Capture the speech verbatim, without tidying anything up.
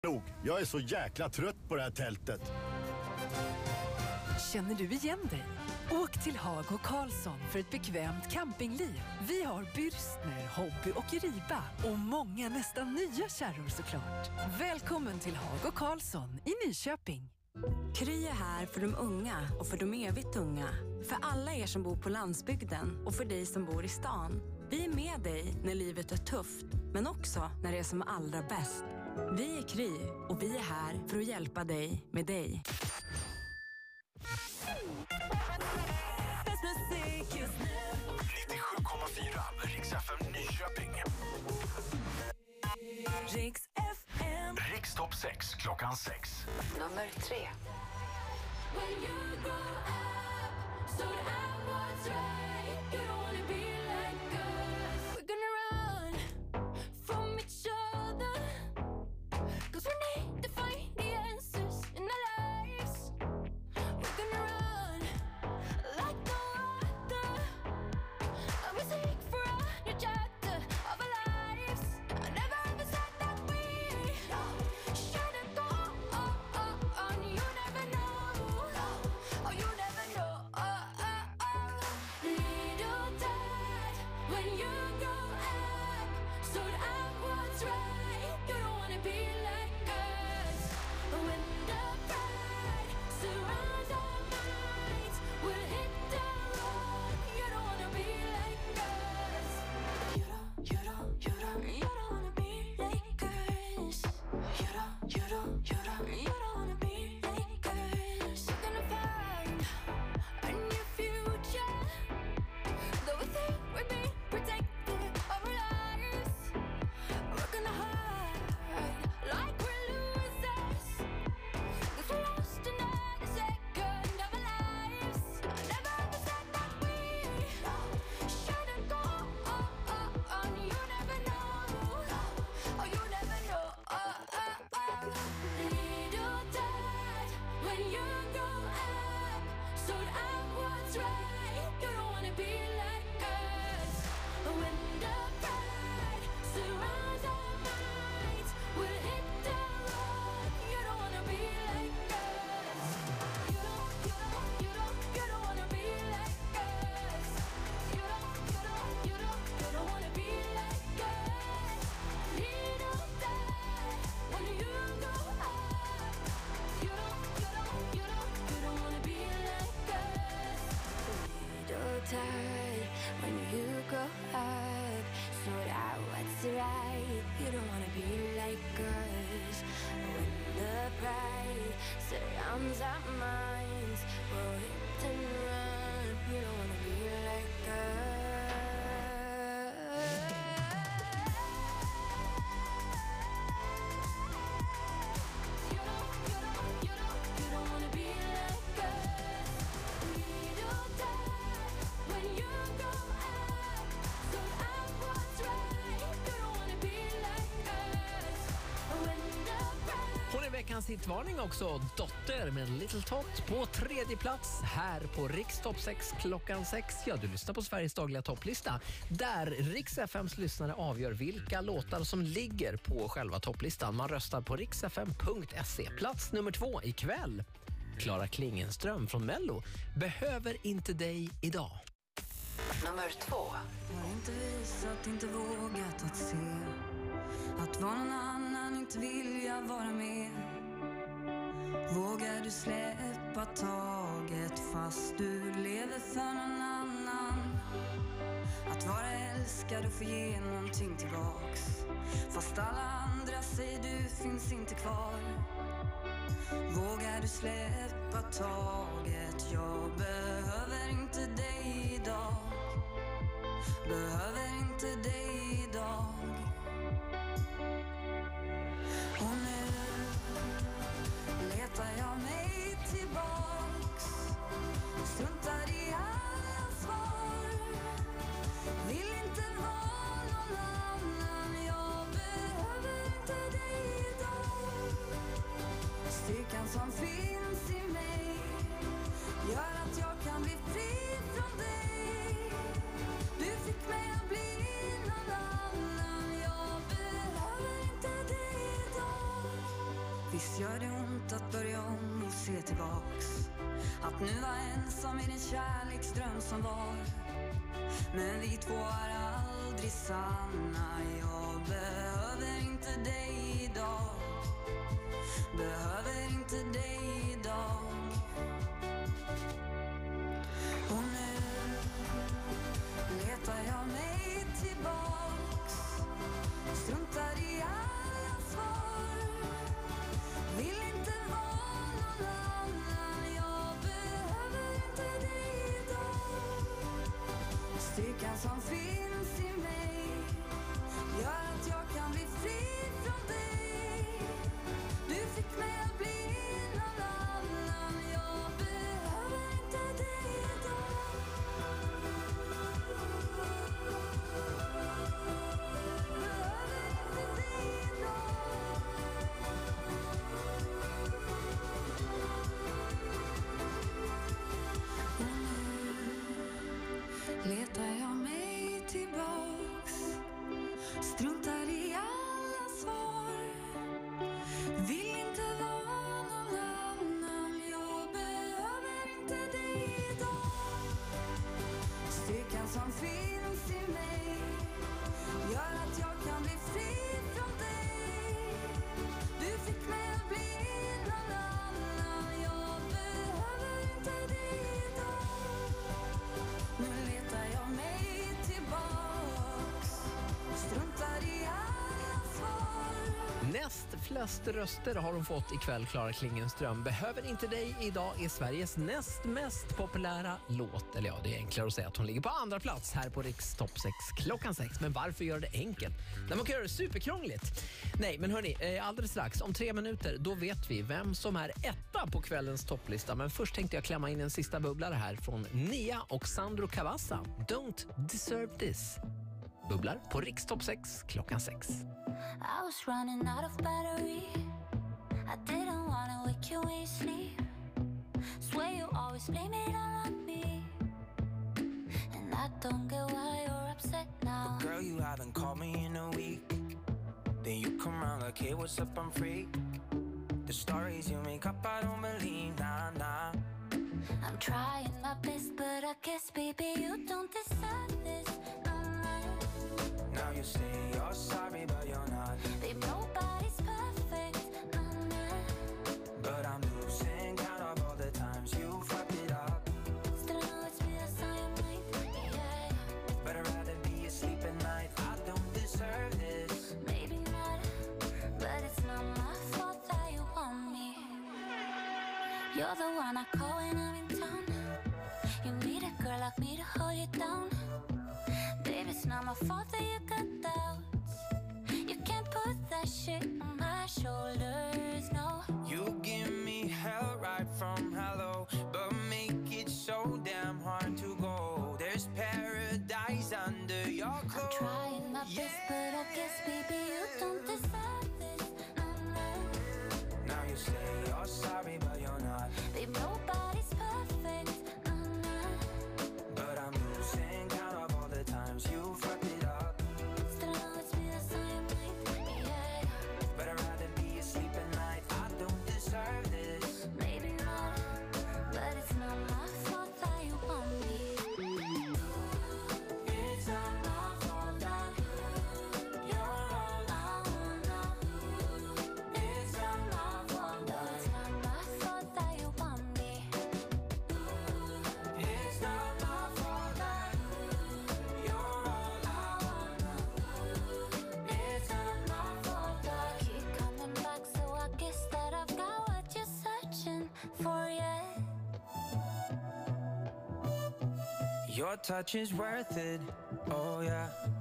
Nog, jag är så jäkla trött på det här tältet. Känner du igen dig? Åk till Hago Karlsson för ett bekvämt campingliv. Vi har Bürstner, Hobby och Riba och många nästan nya kärror såklart. Välkommen till Hago Karlsson i Nyköping. Kry är här för de unga och för de evigt unga. För alla er som bor på landsbygden och för dig som bor i stan. Vi är med dig när livet är tufft, men också när det är som allra bäst. Vi är Kry och vi är här för att hjälpa dig med dig. nittiosju komma fyra Riks F M Nyköping. Riks F M. Riks topp sex klockan sex. Nummer tre. When you go up, so I was right. You don't wanna be like us. We're gonna run from each other, 'cause we need to find the answers in our lives. We're gonna run like no other, and we seek for a new chapter of our lives. I never ever said that we shouldn't go on. You never know, oh you never know. Oh, oh, oh. Little dad, when you go up, so I was right. You don't wanna be like us. When the pride surrounds our minds, we'll hit the road. You don't wanna be like us. You don't, you don't, you don't, you don't wanna be like us. You don't, you don't, you don't, you don't wanna be like us. We're gonna find a new future, though we think we're being protected of our lives. We're gonna hide like we're losers, 'cause we're lost in every second of our lives. I never ever said that we shouldn't go on. You never know, oh you never know. Oh, oh, oh. Little dad, when you go up, so I was right. You don't wanna be like us. When the pride surrounds our minds, we'll hit the road. You don't wanna be like us. You don't, you don't, you don't, you don't wanna be like us. You don't, you don't, you don't, you don't wanna be like us. Little dad, when you go up, you don't, you don't, you don't, you don't wanna be like us. Little dad, when you go up, so that what's right. You don't wanna be like us. When the pride surrounds our minds, we'll hit and run. You don't wanna be like us. You don't, you don't, you don't, you don't wanna be like us. Little dad, when you go up, so I was right. You don't wanna be like us. When the pride. Hon är veckans hitvarning också, Dotter med Little Tot på tredje plats här på Riks topp sex klockan sex. Ja, du lyssnar på Sveriges dagliga topplista där Riks F M:s lyssnare avgör vilka låtar som ligger på själva topplistan. Man röstar på riksfm punkt se. Plats nummer två ikväll. Klara Klingenström från Mello, Behöver inte dig idag. Nummer två. Har inte visat, inte vågat att se att vara någon annan, inte vilja vara med. Vågar du släppa taget fast du lever för någon annan? Att vara älskad och få ge någonting tillbaks, fast alla andra säger du finns inte kvar. Vågar du släppa taget? Jag behöver inte dig idag. Behöver inte dig idag. Och nu letar jag mig tillbaks, struntar i alla svar. Vill inte vara någon annan. Jag behöver inte dig idag. Styrkan som finns i mig gör att jag kan bli fri från dig. Du fick mig att bli någon annan. Jag behöver inte dig idag. Visst gör det ont att börja om och se tillbaks. Att nu var ensam i den kärleksdröm som var. Men vi två är aldrig sanna. Jag behöver inte dig idag. Behöver inte dig idag. Och nu letar jag mig tillbaks. Struntar i alla svar. Vill inte vara någon annan. Jag behöver inte dig idag. Styrkan som finns i mig gör att jag kan bli fri från dig. Du fick mig att bli någon annan. Jag behöver inte dig idag. Behöver inte dig idag. Och nu letar jag mig tillbaks. Struntar i alla svar. Vill inte vara någon annan. Jag behöver inte dig idag. Styrkan som finns i mig gör att jag kan bli fri från dig. Du fick mig att bli någon annan. Jag behöver inte dig idag. Nu letar jag mig tillbaks. Struntar i alla svar. Näst flest röster har hon fått ikväll, Klara Klingenström. Behöver inte dig idag är Sveriges näst mest populära låt. Eller ja, det är enklare att säga att hon ligger på andra plats här på Riks Topp sex klockan sex. Men varför gör det enkelt? När man kan göra det superkrångligt. Nej, men hörni, eh, alldeles strax, om tre minuter, då vet vi vem som är etta på kvällens topplista. Men först tänkte jag klämma in en sista bubblare här från Nia och Sandro Cavazza. Don't deserve this. Bubblar på Riks Topp sex klockan sex. I was running out of battery. I didn't wanna wake you when you sleep. Swear you always blame it all on me. And I don't get why you're upset now. But girl, you haven't called me in a week. Then you come around like, hey, what's up, I'm free. The stories you make up, I don't believe, nah, nah. I'm trying my best, but I guess, baby, you don't deserve this. Now you say you're sorry, but you're not. Babe, nobody's perfect. But I'm losing count of all the times you fucked it up. Still I know it's me that's on your mind. Yeah, But I'd rather be asleep at night. I don't deserve this. maybe not, but it's not my fault that you want me. You're the one I call when I'm in town. You need a girl like me to hold you down. Baby, it's not my fault that you got doubts. You can't put that shit on my shoulders, no. You give me hell right from hello, but make it so damn hard to go. There's paradise under your I'm clothes. trying my best, but I guess, baby, you don't deserve this. Mm-hmm. Now you say you're sorry, but you're not. Babe, nobody's perfect. Mm-hmm. But I'm losing count of all the times you fucked it up. Still I know it's me that's on your mind. Yeah, But I'd rather be asleep at night. I don't deserve this. maybe not, but it's not my fault that you want me. It's not my fault that you're all I wanna. It's not my fault, no, it's not my fault that you want me. It's not my fault that you're all I wanna. It's not my fault that I keep coming back, so I guess that I've got what you're searching for, yeah. Your touch is worth it, oh yeah.